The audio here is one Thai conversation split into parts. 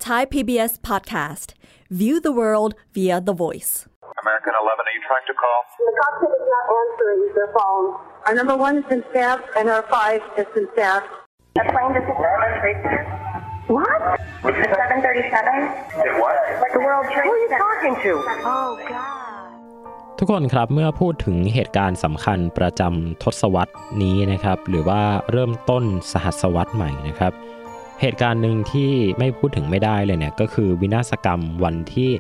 Thai PBS podcast. View the world via The Voice. American 11, are you trying to call? The cockpit is not answering their phone. Our number 1 has been staffed and our 5 has been staffed. The plane just hit What? the 737. Did what? The World Who Trade are you Center. talking to? Oh, God. ทุกคนครับเมื่อพูดถึงเหตุการณ์สำคัญประจำทศวรรษนี้นะครับหรือว่าเริ่มต้นสหัสวรรษใหม่นะครับเหตุการณ์หนึ่งที่ไม่พูดถึงไม่ได้เลยเนี่ยก็คือวินาศกรรมวันที่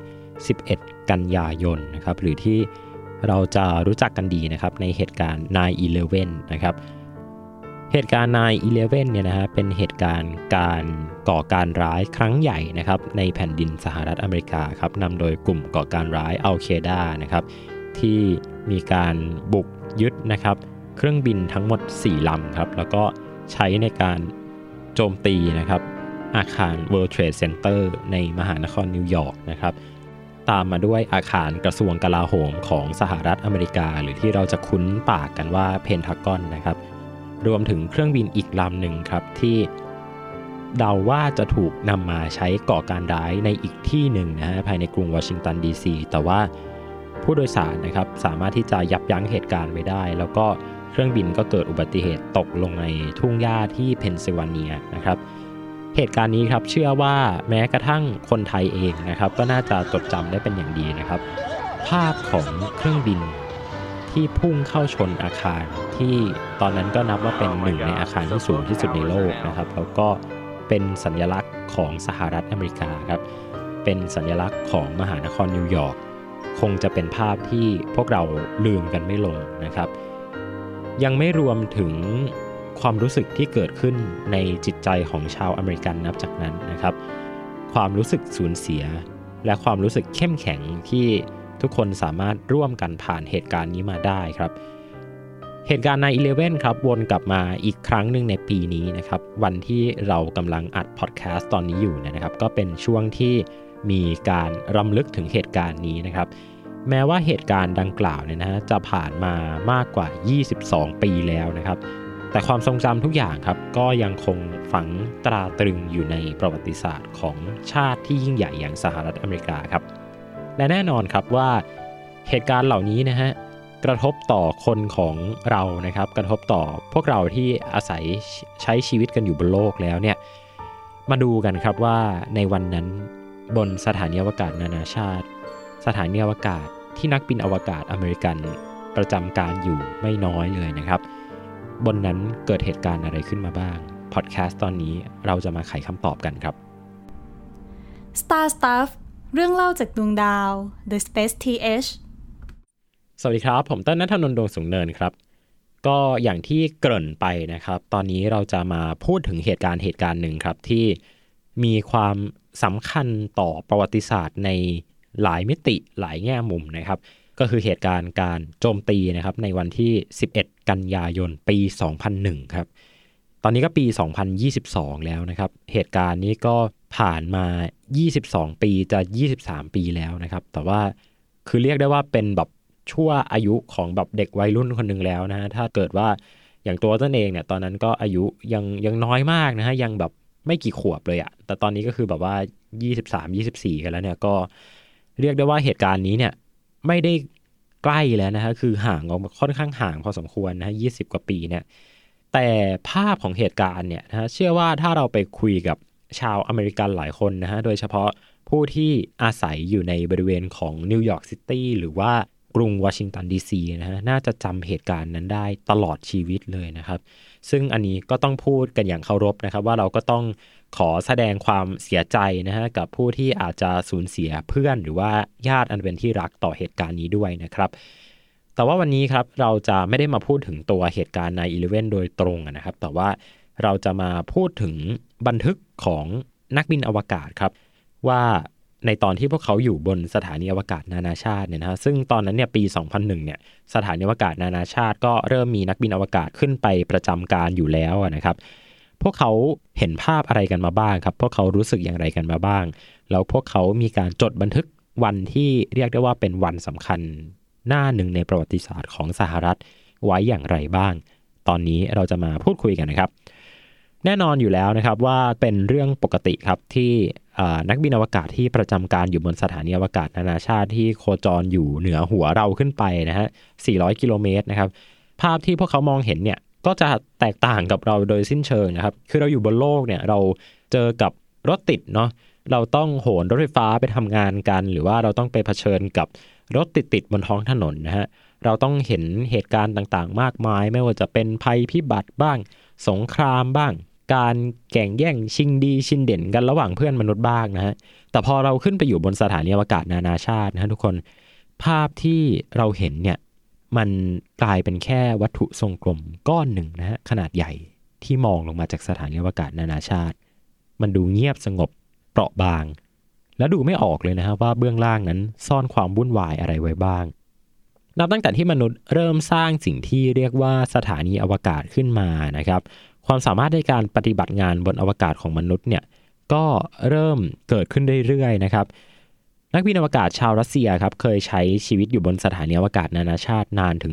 11กันยายนนะครับหรือที่เราจะรู้จักกันดีนะครับในเหตุการณ์ 9/11 นะครับเหตุการณ์ 9/11 เนี่ยนะฮะเป็นเหตุการณ์การก่อการร้ายครั้งใหญ่นะครับในแผ่นดินสหรัฐอเมริกาครับนำโดยกลุ่มก่อการร้ายอัลเคดานะครับที่มีการบุกยึดนะครับเครื่องบินทั้งหมด4ลำครับแล้วก็ใช้ในการโจมตีนะครับอาคาร World Trade Center ในมหานครนิวยอร์กนะครับตามมาด้วยอาคารกระทรวงกลาโหมของสหรัฐอเมริกาหรือที่เราจะคุ้นปากกันว่าเพนทากอนนะครับรวมถึงเครื่องบินอีกลำหนึ่งครับที่เดาว่าจะถูกนำมาใช้ก่อการร้ายในอีกที่หนึ่งนะฮะภายในกรุงวอชิงตันดีซีแต่ว่าผู้โดยสารนะครับสามารถที่จะยับยั้งเหตุการณ์ไว้ได้แล้วก็เครื่องบินก็เกิดอุบัติเหตุตกลงในทุ่งหญ้าที่เพนซิลเวเนียนะครับเหตุการณ์นี้ครับเชื่อว่าแม้กระทั่งคนไทยเองนะครับก็น่าจะจดจำได้เป็นอย่างดีนะครับภาพของเครื่องบินที่พุ่งเข้าชนอาคารที่ตอนนั้นก็นับว่าเป็นหนึ่งในอาคารที่สูงที่สุดในโลกนะครับแล้วก็เป็นสัญลักษณ์ของสหรัฐอเมริกาครับเป็นสัญลักษณ์ของมหานครนิวยอร์กคงจะเป็นภาพที่พวกเราลืมกันไม่ลงนะครับยังไม่รวมถึงความรู้สึกที่เกิดขึ้นในจิตใจของชาวอเมริกันนับจากนั้นนะครับความรู้สึกสูญเสียและความรู้สึกเข้มแข็งที่ทุกคนสามารถร่วมกันผ่านเหตุการณ์นี้มาได้ครับเหตุการณ์ 9/11 ครับวนกลับมาอีกครั้งหนึ่งในปีนี้นะครับวันที่เรากำลังอัดพอดแคสต์ตอนนี้อยู่นะครับก็เป็นช่วงที่มีการรำลึกถึงเหตุการณ์นี้นะครับแม้ว่าเหตุการณ์ดังกล่าวเนี่ยนะฮะจะผ่านมามากกว่า22ปีแล้วนะครับแต่ความทรงจำทุกอย่างครับก็ยังคงฝังตราตรึงอยู่ในประวัติศาสตร์ของชาติที่ยิ่งใหญ่อย่างสหรัฐอเมริกาครับและแน่นอนครับว่าเหตุการณ์เหล่านี้นะฮะกระทบต่อคนของเรานะครับกระทบต่อพวกเราที่อาศัยใช้ชีวิตกันอยู่บนโลกแล้วเนี่ยมาดูกันครับว่าในวันนั้นบนสถานีอวกาศนานาชาติสถานีอวกาศที่นักบินอวกาศอเมริกันประจำการอยู่ไม่น้อยเลยนะครับบนนั้นเกิดเหตุการณ์อะไรขึ้นมาบ้างพอดแคสต์ตอนนี้เราจะมาไขคำตอบกันครับ Star Stuff เรื่องเล่าจากดวงดาว The Space TH สวัสดีครับผมต้นณัฐนนท์ ดวงสูงเนินครับก็อย่างที่เกริ่นไปนะครับตอนนี้เราจะมาพูดถึงเหตุการณ์หนึ่งครับที่มีความสำคัญต่อประวัติศาสตร์ในหลายมิติหลายแง่มุมนะครับก็คือเหตุการณ์การโจมตีนะครับในวันที่11กันยายนปี2001ครับตอนนี้ก็ปี2022แล้วนะครับเหตุการณ์นี้ก็ผ่านมา22ปีจะ23ปีแล้วนะครับแต่ว่าคือเรียกได้ว่าเป็นแบบชั่วอายุของแบบเด็กวัยรุ่นคนนึงแล้วนะฮะถ้าเกิดว่าอย่างตัวต้นเองเนี่ยตอนนั้นก็อายุยังน้อยมากนะฮะยังแบบไม่กี่ขวบเลยอะแต่ตอนนี้ก็คือแบบว่า23-24กันแล้วเนี่ยก็เรียกได้ว่าเหตุการณ์นี้เนี่ยไม่ได้ใกล้แล้วนะฮะคือห่างออกมาค่อนข้างห่างพอสมควรนะฮะ20กว่าปีเนี่ยแต่ภาพของเหตุการณ์เนี่ยนะฮะเชื่อว่าถ้าเราไปคุยกับชาวอเมริกันหลายคนนะฮะโดยเฉพาะผู้ที่อาศัยอยู่ในบริเวณของนิวยอร์กซิตี้หรือว่ากรุงวอชิงตันดีซีนะฮะน่าจะจำเหตุการณ์นั้นได้ตลอดชีวิตเลยนะครับซึ่งอันนี้ก็ต้องพูดกันอย่างเคารพนะครับว่าเราก็ต้องขอแสดงความเสียใจนะฮะกับผู้ที่อาจจะสูญเสียเพื่อนหรือว่าญาติอันเป็นที่รักต่อเหตุการณ์นี้ด้วยนะครับแต่ว่าวันนี้ครับเราจะไม่ได้มาพูดถึงตัวเหตุการณ์ 9/11 โดยตรงนะครับแต่ว่าเราจะมาพูดถึงบันทึกของนักบินอวกาศครับว่าในตอนที่พวกเขาอยู่บนสถานีอวกาศนานาชาติเนี่ยนะฮะซึ่งตอนนั้นเนี่ยปี2001เนี่ยสถานีอวกาศนานาชาติก็เริ่มมีนักบินอวกาศขึ้นไปประจำการอยู่แล้วนะครับพวกเขาเห็นภาพอะไรกันมาบ้างครับพวกเขารู้สึกอย่างไรกันมาบ้างแล้วพวกเขามีการจดบันทึกวันที่เรียกได้ว่าเป็นวันสำคัญหน้าหนึ่งในประวัติศาสตร์ของสหรัฐไว้อย่างไรบ้างตอนนี้เราจะมาพูดคุยกันนะครับแน่นอนอยู่แล้วนะครับว่าเป็นเรื่องปกติครับที่นักบินอวกาศที่ประจำการอยู่บนสถานีอวกาศนานาชาติที่โคจรอยู่เหนือหัวเราขึ้นไปนะฮะ400 กิโลเมตรนะครับภาพที่พวกเขามองเห็นเนี่ยก็จะแตกต่างกับเราโดยสิ้นเชิงนะครับคือเราอยู่บนโลกเนี่ยเราเจอกับรถติดเนาะเราต้องโหนรถไฟฟ้าไปทำงานกันหรือว่าเราต้องไปเผชิญกับรถติดบนท้องถนนนะฮะเราต้องเห็นเหตุการณ์ต่างๆมากมายไม่ว่าจะเป็นภัยพิบัติบ้างสงครามบ้างการแข่งแย่งชิงดีชิงเด่นกันระหว่างเพื่อนมนุษย์บ้างนะฮะแต่พอเราขึ้นไปอยู่บนสถานีอวกาศนานาชาตินะฮะทุกคนภาพที่เราเห็นเนี่ยมันกลายเป็นแค่วัตถุทรงกลมก้อนหนึ่งนะฮะขนาดใหญ่ที่มองลงมาจากสถานีอวกาศนานาชาติมันดูเงียบสงบเปราะบางและดูไม่ออกเลยนะฮะว่าเบื้องล่างนั้นซ่อนความวุ่นวายอะไรไว้บ้างนับตั้งแต่ที่มนุษย์เริ่มสร้างสิ่งที่เรียกว่าสถานีอวกาศขึ้นมานะครับความสามารถในการปฏิบัติงานบนอวกาศของมนุษย์เนี่ยก็เริ่มเกิดขึ้นเรื่อยๆนะครับนักบินอวกาศชาวรัสเซียครับเคยใช้ชีวิตอยู่บนสถานีอวกาศนานาชาตินานถึง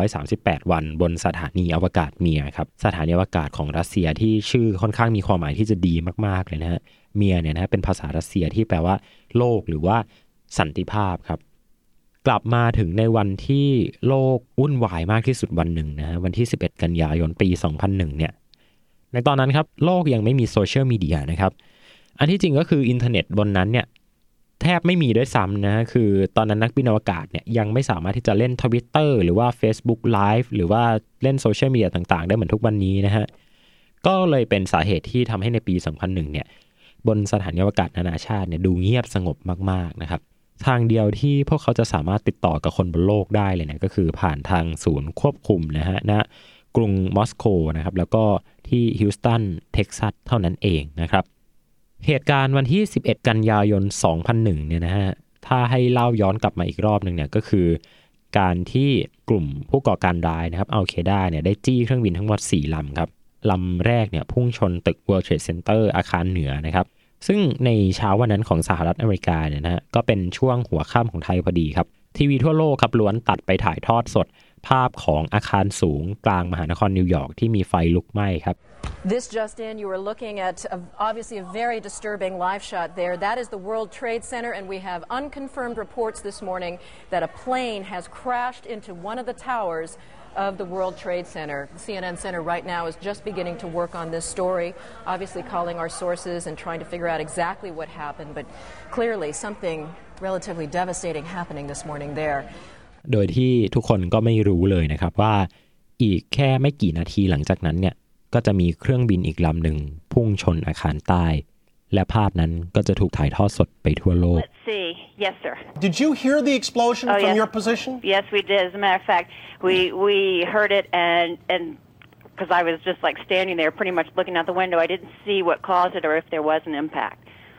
438วันบนสถานีอวกาศเมียครับสถานีอวกาศของรัสเซียที่ชื่อค่อนข้างมีความหมายที่จะดีมากๆเลยนะฮะเมียเนี่ยนะเป็นภาษารัสเซียที่แปลว่าโลกหรือว่าสันติภาพครับกลับมาถึงในวันที่โลกวุ่นวายมากที่สุดวันหนึ่งนะฮะวันที่11กันยายนปี2001เนี่ยในตอนนั้นครับโลกยังไม่มีโซเชียลมีเดียนะครับอันที่จริงก็คืออินเทอร์เน็ตบนนั้นเนี่ยแทบไม่มีด้วยซ้ำนะคือตอนนั้นนักบินอวกาศเนี่ยยังไม่สามารถที่จะเล่น Twitter หรือว่า Facebook Live หรือว่าเล่นโซเชียลมีเดียต่างๆได้เหมือนทุกวันนี้นะฮะก็เลยเป็นสาเหตุที่ทำให้ในปี2001เนี่ยบนสถานีอวกาศนานาชาติเนี่ยดูเงียบสงบมากๆนะครับทางเดียวที่พวกเขาจะสามารถติดต่อกับคนบนโลกได้เลยเนี่ยก็คือผ่านทางศูนย์ควบคุมนะฮะณกรุงมอสโกนะครับแล้วก็ที่ฮิวสตันเท็กซัสเท่านั้นเองนะครับเหตุการณ์วันที่11กันยายน2001เนี่ยนะฮะถ้าให้เล่าย้อนกลับมาอีกรอบนึงเนี่ยก็คือการที่กลุ่มผู้ก่อการร้ายนะครับอัลเคด้าเนี่ยได้จี้เครื่องบินทั้งหมด4ลำครับลำแรกเนี่ยพุ่งชนตึก World Trade Center อาคารเหนือนะครับซึ่งในเช้าวันนั้นของสหรัฐอเมริกาเนี่ยนะฮะก็เป็นช่วงหัวค่ำของไทยพอดีครับทีวีทั่วโลกครับล้วนตัดไปถ่ายทอดสดภาพของอาคารสูงกลางมหานครนิวยอร์กที่มีไฟลุกไหม้ครับ This just in, you are looking at obviously a very disturbing live shot there. That is the World Trade Center, and we have unconfirmed reports this morning that a plane has crashed into one of the towers of the World Trade Center. The CNN Center right now is just beginning to work on this story, obviously calling our sources and trying to figure out exactly what happened, but clearly something relatively devastating happening this morning there. โดยที่ทุกคนก็ไม่รู้เลยนะครับว่าอีกแค่ไม่กี่นาทีหลังจากนั้นเนี่ยก็จะมีเครื่องบินอีกลำหนึ่งพุ่งชนอาคารใต้และภาพนั้นก็จะถูกถ่ายทอดสดไปทั่วโลก Let's see. Yes, sir. Did you hear the explosion from yes. your position? Yes, we did. As a matter of fact, we heard it and because I was just like standing there pretty much looking out the window, I didn't see what caused it or if there was an impact.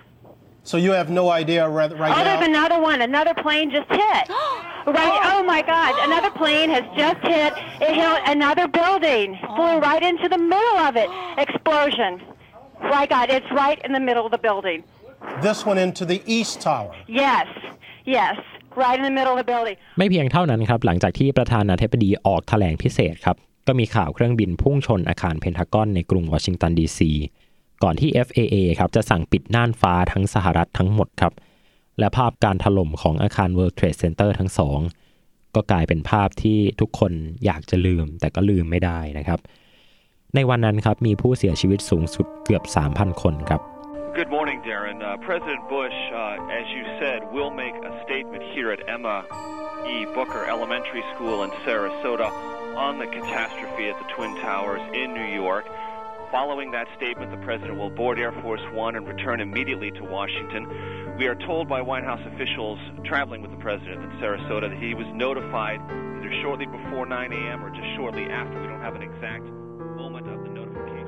So you have no idea right now? There's another one. Another plane just hit. Right. Oh my God. Another plane has just hit. It hit another building. Flew right into the middle of it. Explosion. My God. It's right in the middle of the building. This one into the East Tower. Yes. Yes. Right in the middle of the building. ไม่เพียงเท่านั้นครับหลังจากที่ประธานาธิบดีออกแถลงพิเศษครับก็มีข่าวเครื่องบินพุ่งชนอาคารเพนทากอนในกรุงวอชิงตันดีซีก่อนที่ FAA ครับจะสั่งปิดน่านฟ้าทั้งสหรัฐทั้งหมดครับและภาพการถล่มของอาคาร World Trade Center ทั้งสองก็กลายเป็นภาพที่ทุกคนอยากจะลืมแต่ก็ลืมไม่ได้นะครับในวันนั้นครับมีผู้เสียชีวิตสูงสุดเกือบ 3,000 คนครับ Good morning, Darren. President Bush, as you said, will make a statement here at Emma E. Booker Elementary School in Sarasota on the catastrophe at the Twin Towers in New York.Following that statement, the president will board Air Force One and return immediately to Washington. We are told by White House officials traveling with the president in Sarasota that he was notified either shortly before 9 a.m. or just shortly after. We don't have an exact moment of the notification.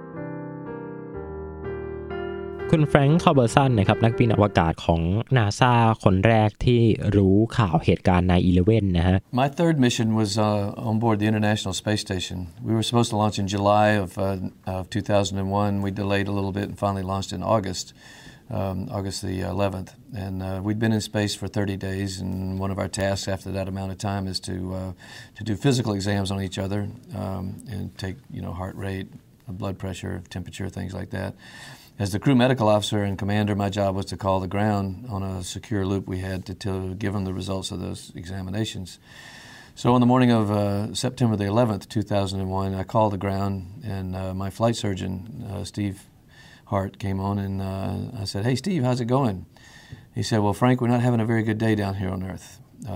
คุณแฟรงค์ คาร์เบอร์สันนะครับนักบินอวกาศของ NASA คนแรกที่รู้ข่าวเหตุการณ์ 9/11 นะฮะ My third mission was on board the International Space Station. We were supposed to launch in July of 2001. We delayed a little bit and finally launched in August the 11th. And we'd been in space for 30 days, and one of our tasks after that amount of time is to do physical exams on each other and take heart rate, blood pressure, temperature, things like that. As the crew medical officer and commander, my job was to call the ground on a secure loop we had to give them the results of those examinations. So on the morning of September the 11th, 2001, I called the ground, and my flight surgeon, Steve Hart, came on, and I said, "Hey, Steve, how's it going?" He said, "Well, Frank, we're not having a very good day down here on Earth."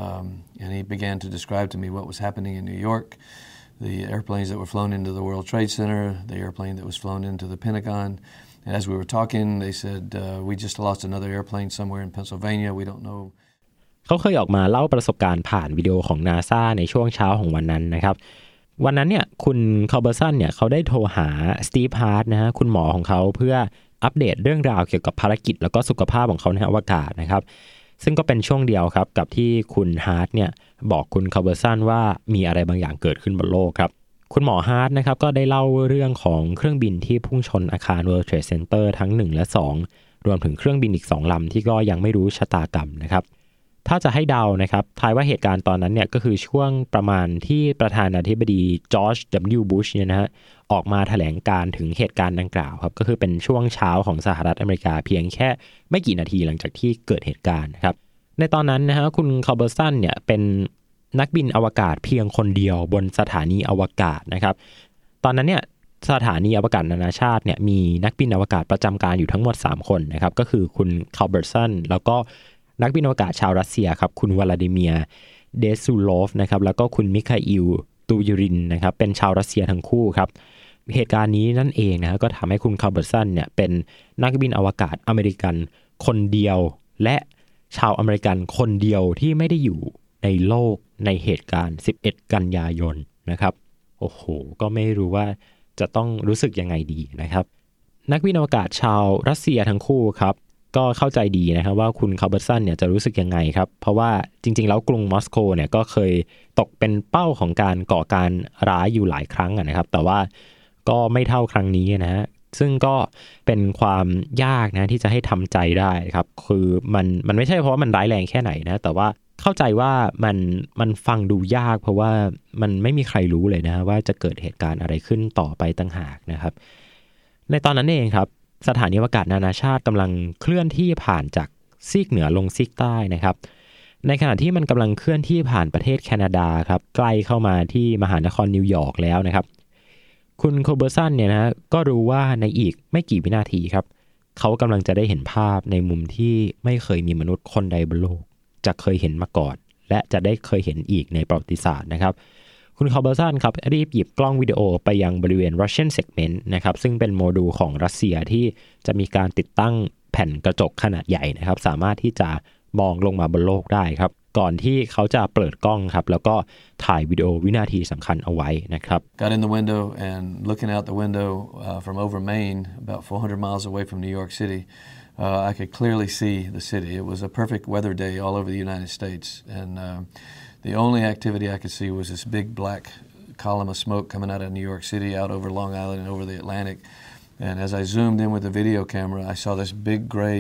And he began to describe to me what was happening in New York, the airplanes that were flown into the World Trade Center, the airplane that was flown into the Pentagon. And as we were talking, they said, "We just lost another airplane somewhere in Pennsylvania. We don't know." เขาเคยออกมาเล่าประสบการณ์ผ่านวิดีโอของ NASA ในช่วงเช้าของวันนั้นนะครับวันนั้นเนี่ยคุณคาร์เบอร์สันเนี่ยเขาได้โทรหาสตีฟฮาร์ทนะฮะคุณหมอของเขาเพื่ออัปเดตเรื่องราวเกี่ยวกับภารกิจแล้วก็สุขภาพของเขาในอวกาศนะครับซึ่งก็เป็นช่วงเดียวครับกับที่คุณฮาร์ทเนี่ยบอกคุณคาร์เบอร์สันว่ามีอะไรบางอย่างเกิดขึ้นบนโลกครับคุณหมอฮาร์ทนะครับก็ได้เล่าเรื่องของเครื่องบินที่พุ่งชนอาคาร World Trade Center ทั้ง1และ2รวมถึงเครื่องบินอีก2ลำที่ก็ยังไม่รู้ชะตากรรมนะครับถ้าจะให้เดานะครับทายว่าเหตุการณ์ตอนนั้นเนี่ยก็คือช่วงประมาณที่ประธานาธิบดีจอร์จ W. บุชเนี่ยนะฮะออกมาแถลงการถึงเหตุการณ์ดังกล่าวครับก็คือเป็นช่วงเช้าของสหรัฐอเมริกาเพียงแค่ไม่กี่นาทีหลังจากที่เกิดเหตุการณ์นะครับในตอนนั้นนะฮะคุณคาร์เบอร์สันเนี่ยเป็นนักบินอวกาศเพียงคนเดียวบนสถานีอวกาศนะครับตอนนั้นเนี่ยสถานีอวกาศนานาชาติเนี่ยมีนักบินอวกาศประจำการอยู่ทั้งหมด3คนนะครับก็คือคุณคาร์เบอร์สันแล้วก็นักบินอวกาศชาวรัสเซียครับคุณวลาดิเมียร์เดซูโลฟนะครับแล้วก็คุณมิคาอิลตูยูรินนะครับเป็นชาวรัสเซียทั้งคู่ครับเหตุการณ์นี้นั่นเองนะก็ทำให้คุณคาร์เบอร์สันเนี่ยเป็นนักบินอวกาศอเมริกันคนเดียวและชาวอเมริกันคนเดียวที่ไม่ได้อยู่ในโลกในเหตุการณ์11กันยายนนะครับโอ้โหก็ไม่รู้ว่าจะต้องรู้สึกยังไงดีนะครับนักบินอวกาศชาวรัสเซียทั้งคู่ครับก็เข้าใจดีนะครับว่าคุณคาร์เบอร์สันเนี่ยจะรู้สึกยังไงครับเพราะว่าจริงๆแล้วกรุงมอสโกเนี่ยก็เคยตกเป็นเป้าของการก่อการร้ายอยู่หลายครั้งนะครับแต่ว่าก็ไม่เท่าครั้งนี้นะฮะซึ่งก็เป็นความยากนะที่จะให้ทำใจได้ครับคือมันไม่ใช่เพราะว่ามันร้ายแรงแค่ไหนนะแต่ว่าเข้าใจว่ามันฟังดูยากเพราะว่ามันไม่มีใครรู้เลยนะว่าจะเกิดเหตุการณ์อะไรขึ้นต่อไปต่างหากนะครับในตอนนั้นเองครับสถานีอวกาศนานาชาติกำลังเคลื่อนที่ผ่านจากซีกเหนือลงซีกใต้นะครับในขณะที่มันกำลังเคลื่อนที่ผ่านประเทศแคนาดาครับใกล้เข้ามาที่มหานครนิวยอร์กแล้วนะครับคุณคาร์เบอร์สันเนี่ยนะก็รู้ว่าในอีกไม่กี่วินาทีครับเขากำลังจะได้เห็นภาพในมุมที่ไม่เคยมีมนุษย์คนใดบนโลกจะเคยเห็นมาก่อนและจะได้เคยเห็นอีกในประวัติศาสตร์นะครับคุณคาร์เบอร์สันครับรีบหยิบกล้องวิดีโอไปยังบริเวณ Russian Segment นะครับซึ่งเป็นโมดูลของรัสเซียที่จะมีการติดตั้งแผ่นกระจกขนาดใหญ่นะครับสามารถที่จะมองลงมาบนโลกได้ครับก่อนที่เขาจะเปิดกล้องครับแล้วก็ถ่ายวิดีโอวินาทีสำคัญเอาไว้นะครับ Got in the window and looking out the window from over Maine about 400 miles away from New York City I could clearly see the city. It was a perfect weather day all over the United States and the only activity I could see was this big black column of smoke coming out of New York City out over Long Island and over the Atlantic. And as I zoomed in with the video camera, I saw this big gray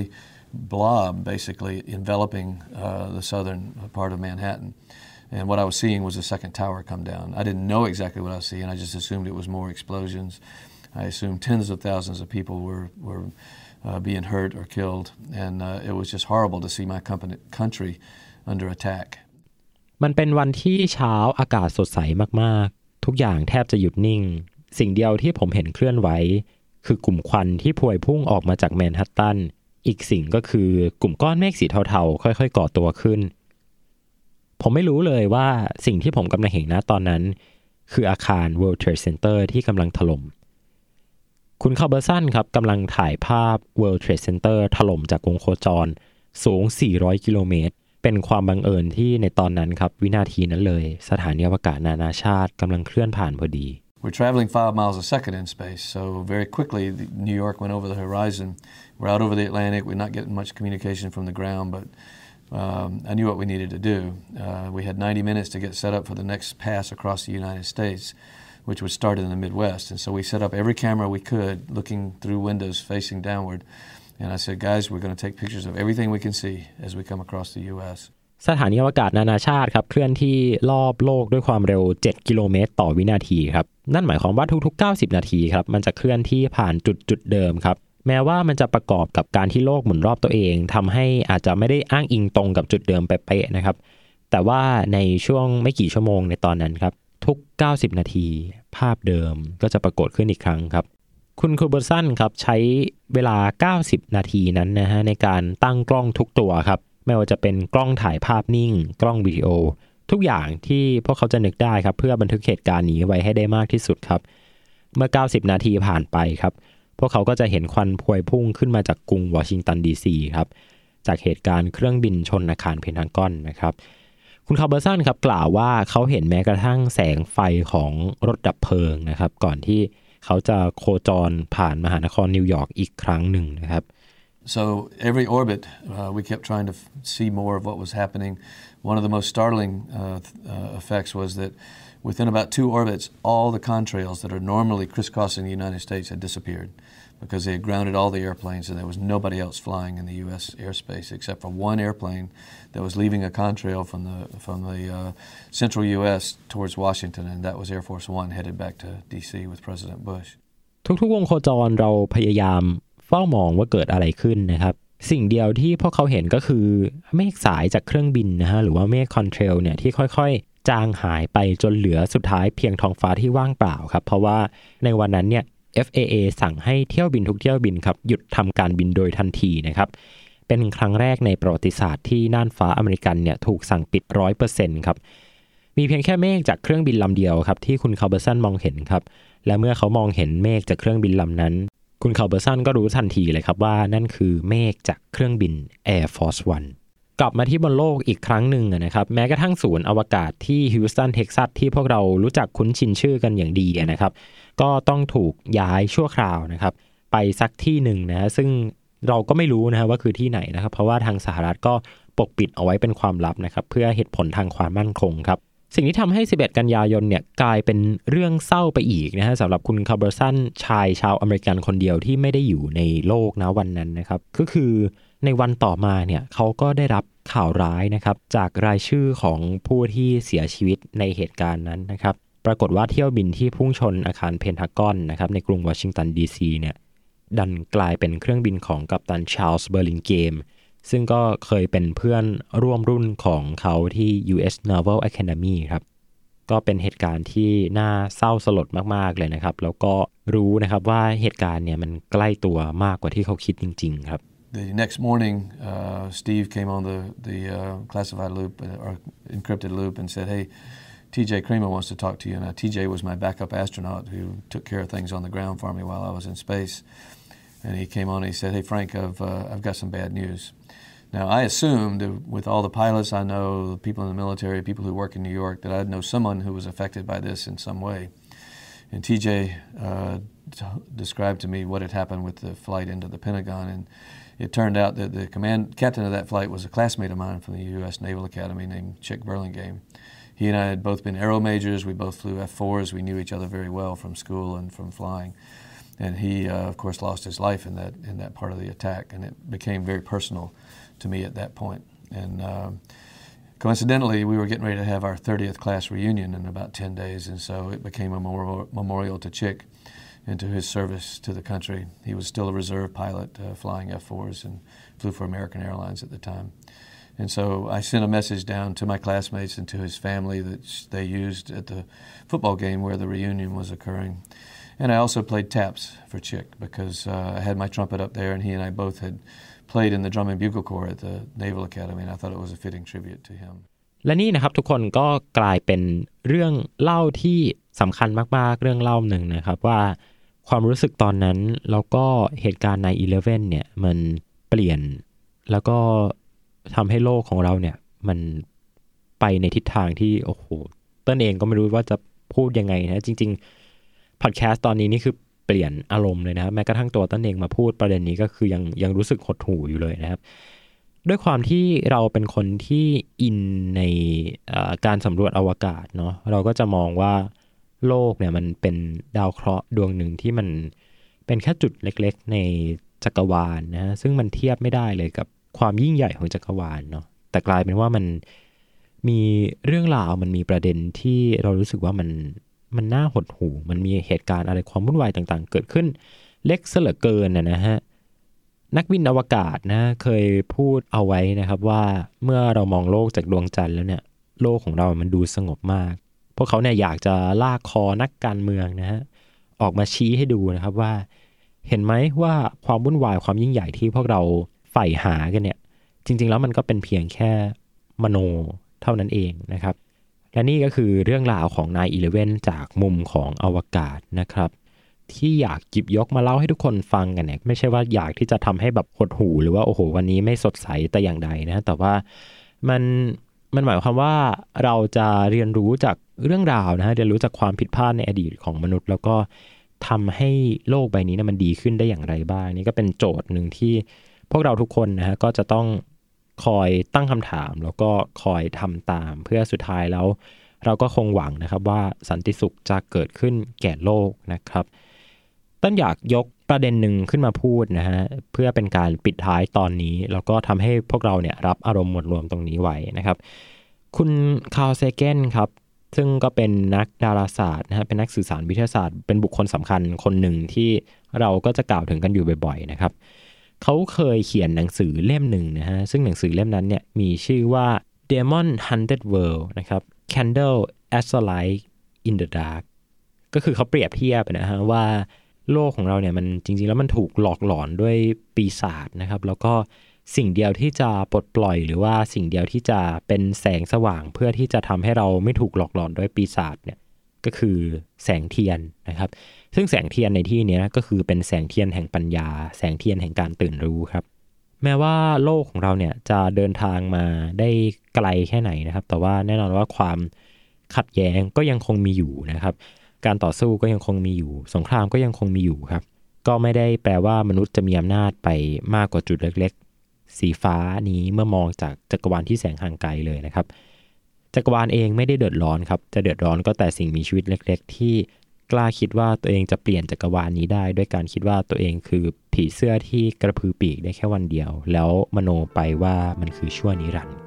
blob basically enveloping the southern part of Manhattan. And what I was seeing was the second tower come down. I didn't know exactly what I was seeing. I just assumed it was more explosions. I assumed tens of thousands of people were being hurt or killed. And it was just horrible to see my country under attack. มันเป็นวันที่เช้าอากาศสดใสมากๆทุกอย่างแทบจะหยุดนิ่งสิ่งเดียวที่ผมเห็นเคลื่อนไหวคือกลุ่มควันที่พวยพุ่งออกมาจากแมนฮัตตันอีกสิ่งก็คือกลุ่มก้อนเมฆสีเทาๆค่อยๆก่อตัวขึ้นผมไม่รู้เลยว่าสิ่งที่ผมกำลังเห็นนะตอนนั้นคืออาคาร World Trade Center ที่กำลังถล่มคุณคาร์เบอร์สันครับกำลังถ่ายภาพ World Trade Center ถล่มจากวงโคจรสูง400กิโลเมตรเป็นความบังเอิญที่ในตอนนั้นครับวินาทีนั้นเลยสถานีอวกาศนานาชาติกำลังเคลื่อนผ่านพอดี We're traveling 5 miles a second in space, so very quickly New York went over the horizon. We're out over the Atlantic. We're not getting much communication from the ground, but I knew what we needed to do. We had 90 minutes to get set up for the next pass across the United States, which would start in the Midwest. And so we set up every camera we could, looking through windows facing downward.And I said, guys, we're going to take pictures of everything we can see as we come across the U.S. สถานีอวกาศนานาชาติครับเคลื่อนที่รอบโลกด้วยความเร็ว7กิโลเมตรต่อวินาทีครับนั่นหมายความว่าทุกๆ90นาทีครับมันจะเคลื่อนที่ผ่านจุดเดิมครับแม้ว่ามันจะประกอบกับการที่โลกหมุนรอบตัวเองทำให้อาจจะไม่ได้อ้างอิงตรงกับจุดเดิมเป๊ะๆนะครับแต่ว่าในช่วงไม่กี่ชั่วโมงในตอนนั้นครับทุก90นาทีภาพเดิมก็จะปรากฏขึ้นอีกครั้งครับคุณคูเบอร์สันครับใช้เวลา90นาทีนั้นนะฮะในการตั้งกล้องทุกตัวครับไม่ว่าจะเป็นกล้องถ่ายภาพนิ่งกล้องวิดีโอทุกอย่างที่พวกเขาจะนึกได้ครับเพื่อบันทึกเหตุการณ์นี้ไว้ให้ได้มากที่สุดครับเมื่อ90นาทีผ่านไปครับพวกเขาก็จะเห็นควันพวยพุ่งขึ้นมาจากกรุงวอชิงตันดีซีครับจากเหตุการณ์เครื่องบินชนอาคารเพนทากอนนะครับคุณคาร์เบอร์สันครับกล่าวว่าเขาเห็นแม้กระทั่งแสงไฟของรถดับเพลิงนะครับก่อนที่เขาจะโคจรผ่านมหานครนิวยอร์กอีกครั้งหนึ่งนะครับ So every orbit, we kept trying to see more of what was happening. One of the most startling effects was that within about 2 orbits, all the contrails that are normally crisscrossing the United States had disappeared because they had grounded all the airplanes and there was nobody else flying in the U.S. airspace except for one airplane that was leaving a contrail from the central U.S. towards Washington, and that was Air Force One headed back to D.C. with President Bush. ทุกๆวงโคจรเราพยายามเฝ้ามองว่าเกิดอะไรขึ้นนะครับสิ่งเดียวที่พวกเขาเห็นก็คือเมฆสายจากเครื่องบินนะฮะหรือว่าเมฆคอนเทรลเนี่ยที่ค่อยๆจางหายไปจนเหลือสุดท้ายเพียงท้องฟ้าที่ว่างเปล่าครับเพราะว่าในวันนั้นเนี่ย FAA สั่งให้เที่ยวบินทุกเที่ยวบินครับหยุดทำการบินโดยทันทีนะครับเป็นครั้งแรกในประวัติศาสตร์ที่น่านฟ้าอเมริกันเนี่ยถูกสั่งปิด 100% ครับมีเพียงแค่เมฆจากเครื่องบินลำเดียวครับที่คุณคาร์เบอร์สันมองเห็นครับและเมื่อเขามองเห็นเมฆจากเครื่องบินลำนั้นคุณคาร์เบอร์สันก็รู้ทันทีเลยครับว่านั่นคือเมฆจากเครื่องบิน Air Force One กลับมาที่บนโลกอีกครั้งหนึ่งนะครับแม้กระทั่งศูนย์อวกาศที่ฮิวสตันเท็กซัสที่พวกเรารู้จักคุ้นชินชื่อกันอย่างดีนะครับก็ต้องถูกย้ายชั่วคราวนะครับไปสักที่หนึ่งนะซึ่งเราก็ไม่รู้นะว่าคือที่ไหนนะครับเพราะว่าทางสหรัฐก็ปกปิดเอาไว้เป็นความลับนะครับเพื่อเหตุผลทางความมั่นคงครับสิ่งที่ทำให้11กันยายนเนี่ยกลายเป็นเรื่องเศร้าไปอีกนะฮะสำหรับคุณคาร์เบอร์สันชายชาวอเมริกันคนเดียวที่ไม่ได้อยู่ในโลกนะวันนั้นนะครับก็คือในวันต่อมาเนี่ยเขาก็ได้รับข่าวร้ายนะครับจากรายชื่อของผู้ที่เสียชีวิตในเหตุการณ์นั้นนะครับปรากฏว่าเที่ยวบินที่พุ่งชนอาคารเพนทากอนนะครับในกรุงวอชิงตันดีซีเนี่ยดันกลายเป็นเครื่องบินของกัปตันชาร์ลส์เบอร์ลินเกมซึ่งก็เคยเป็นเพื่อนร่วมรุ่นของเขาที่ U.S. Naval Academy ครับก็เป็นเหตุการณ์ที่น่าเศร้าสลดมากๆเลยนะครับแล้วก็รู้นะครับว่าเหตุการณ์เนี่ยมันใกล้ตัวมากกว่าที่เขาคิดจริงๆครับ The next morning, Steve came on the classified loop or encrypted loop and said, "Hey, TJ Kramer wants to talk to you." Now, TJ was my backup astronaut who took care of things on the ground for me while I was in space. And he came on and he said, "Hey, Frank, I've got some bad news." Now, I assumed with all the pilots I know, people in the military, people who work in New York, that I'd know someone who was affected by this in some way. And TJ described to me what had happened with the flight into the Pentagon. And it turned out that the captain of that flight was a classmate of mine from the U.S. Naval Academy named Chick Burlingame. He and I had both been aero majors. We both flew F-4s. We knew each other very well from school and from flying. And he, of course, lost his life in that part of the attack. And it became very personal to me at that point. And coincidentally, we were getting ready to have our 30th class reunion in about 10 days. And so it became a memorial to Chick and to his service to the country. He was still a reserve pilot flying F-4s and flew for American Airlines at the time. And so I sent a message down to my classmates and to his family that they used at the football game where the reunion was occurring. And I also played taps for Chick because I had my trumpet up there and he and I both had played in the Drum and Bugle Corps at the Naval Academy, and I thought it was a fitting tribute to him. และนี่นะครับทุกคนก็กลายเป็นเรื่องเล่าที่สำคัญมากๆเรื่องเล่าหนึ่งนะครับว่าความรู้สึกตอนนั้นแล้วก็เหตุการณ์ 9/11 เนี่ยมันเปลี่ยนแล้วก็ทำให้โลกของเราเนี่ยมันไปในทิศทางที่โอ้โหต้นเองก็ไม่รู้ว่าจะพูดยังไงนะจริงๆพอดแคสต์ตอนนี้นี่คือเปลี่ยนอารมณ์เลยนะครับแม้กระทั่งตัวต้นเองมาพูดประเด็นนี้ก็คือยังรู้สึกหดหู่อยู่เลยนะครับด้วยความที่เราเป็นคนที่อินในการสำรวจอวกาศเนาะเราก็จะมองว่าโลกเนี่ยมันเป็นดาวเคราะห์ดวงหนึ่งที่มันเป็นแค่จุดเล็กๆในจักรวาลนะซึ่งมันเทียบไม่ได้เลยกับความยิ่งใหญ่ของจักรวาลเนาะแต่กลายเป็นว่ามันมีเรื่องราวมันมีประเด็นที่เรารู้สึกว่ามันน่าหดหู่มันมีเหตุการณ์อะไรความวุ่นวายต่างๆเกิดขึ้นเล็กซะเหลือเกินนะฮะนักบินอวกาศนะเคยพูดเอาไว้นะครับว่าเมื่อเรามองโลกจากดวงจันทร์แล้วเนี่ยโลกของเรามันดูสงบมากพวกเขาเนี่ยอยากจะลากคอนักการเมืองนะฮะออกมาชี้ให้ดูนะครับว่าเห็นไหมว่าความวุ่นวายความยิ่งใหญ่ที่พวกเราใฝ่หากันเนี่ยจริงๆแล้วมันก็เป็นเพียงแค่มโนเท่านั้นเองนะครับและนี่ก็คือเรื่องราวของ 9/11 จากมุมของอวกาศนะครับที่อยากหยิบยกมาเล่าให้ทุกคนฟังกันเนี่ยไม่ใช่ว่าอยากที่จะทำให้แบบหดหู่หรือว่าโอ้โหวันนี้ไม่สดใสแต่อย่างใดนะแต่ว่ามันหมายความว่าเราจะเรียนรู้จากเรื่องราวนะฮะเรียนรู้จากความผิดพลาดในอดีตของมนุษย์แล้วก็ทำให้โลกใบนี้นะมันดีขึ้นได้อย่างไรบ้างนี่ก็เป็นโจทย์หนึ่งที่พวกเราทุกคนนะฮะก็จะต้องคอยตั้งคำถามแล้วก็คอยทำตามเพื่อสุดท้ายแล้วเราก็คงหวังนะครับว่าสันติสุขจะเกิดขึ้นแก่โลกนะครับต้นอยากยกประเด็นหนึ่งขึ้นมาพูดนะฮะเพื่อเป็นการปิดท้ายตอนนี้แล้วก็ทำให้พวกเราเนี่ยรับอารมณ์หมวดรวมตรงนี้ไว้นะครับคุณคาร์ล เซเกนครับซึ่งก็เป็นนักดาราศาสตร์นะฮะเป็นนักสื่อสารวิทยาศาสตร์เป็นบุคคลสำคัญคนหนึ่งที่เราก็จะกล่าวถึงกันอยู่บ่อยๆนะครับเขาเคยเขียนหนังสือเล่มหนึ่งนะฮะซึ่งหนังสือเล่มนั้นเนี่ยมีชื่อว่า Demon Haunted World นะครับ Candle as a Light in the Dark ก็คือเขาเปรียบเทียบนะฮะว่าโลกของเราเนี่ยมันจริงๆแล้วมันถูกหลอกหลอนด้วยปีศาจนะครับแล้วก็สิ่งเดียวที่จะปลดปล่อยหรือว่าสิ่งเดียวที่จะเป็นแสงสว่างเพื่อที่จะทำให้เราไม่ถูกหลอกหลอนด้วยปีศาจเนี่ยก็คือแสงเทียนนะครับซึ่งแสงเทียนในที่นี้ก็คือเป็นแสงเทียนแห่งปัญญาแสงเทียนแห่งการตื่นรู้ครับแม้ว่าโลกของเราเนี่ยจะเดินทางมาได้ไกลแค่ไหนนะครับแต่ว่าแน่นอนว่าความขัดแย้งก็ยังคงมีอยู่นะครับการต่อสู้ก็ยังคงมีอยู่สงครามก็ยังคงมีอยู่ครับก็ไม่ได้แปลว่ามนุษย์จะมีอำนาจไปมากกว่าจุดเล็กๆสีฟ้านี้เมื่อมองจากจักรวาลที่แสงห่างไกลเลยนะครับจักรวาลเองไม่ได้เดือดร้อนครับจะเดือดร้อนก็แต่สิ่งมีชีวิตเล็กๆที่กล้าคิดว่าตัวเองจะเปลี่ยนจักรวาลนี้ได้ด้วยการคิดว่าตัวเองคือผีเสื้อที่กระพือปีกได้แค่วันเดียวแล้วมโนไปว่ามันคือชั่วนิรันดร์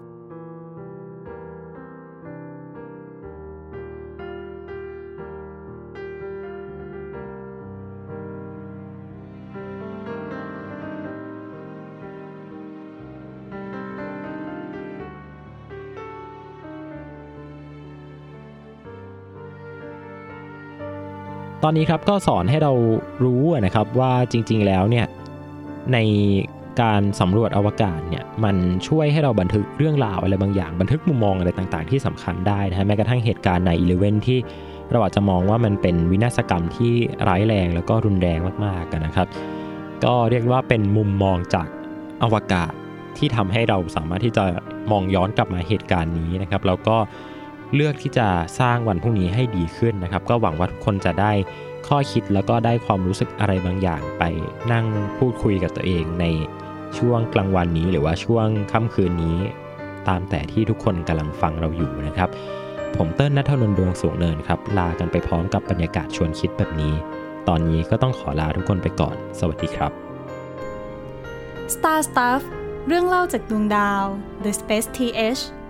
ตอนนี้ครับก็สอนให้เรารู้นะครับว่าจริงๆแล้วเนี่ยในการสำรวจอวกาศเนี่ยมันช่วยให้เราบันทึกเรื่องราวอะไรบางอย่างบันทึกมุมมองอะไรต่างๆที่สำคัญได้นะฮะแม้กระทั่งเหตุการณ์ 9/11 ที่เราอาจจะมองว่ามันเป็นวินาศกรรมที่ร้ายแรงแล้วก็รุนแรงมากๆกันนะครับก็เรียกว่าเป็นมุมมองจากอวกาศที่ทำให้เราสามารถที่จะมองย้อนกลับมาเหตุการณ์นี้นะครับแล้วก็เลือกที่จะสร้างวันพรุ่งนี้ให้ดีขึ้นนะครับก็หวังว่าทุกคนจะได้ข้อคิดแล้วก็ได้ความรู้สึกอะไรบางอย่างไปนั่งพูดคุยกับตัวเองในช่วงกลางวันนี้หรือว่าช่วงค่ำคืนนี้ตามแต่ที่ทุกคนกำลังฟังเราอยู่นะครับผมเติ้ลณัฐนนท์ ดวงสูงเนินครับลากันไปพร้อมกับบรรยากาศชวนคิดแบบนี้ตอนนี้ก็ต้องขอลาทุกคนไปก่อนสวัสดีครับ Star Stuff เรื่องเล่าจากดวงดาว The Space TH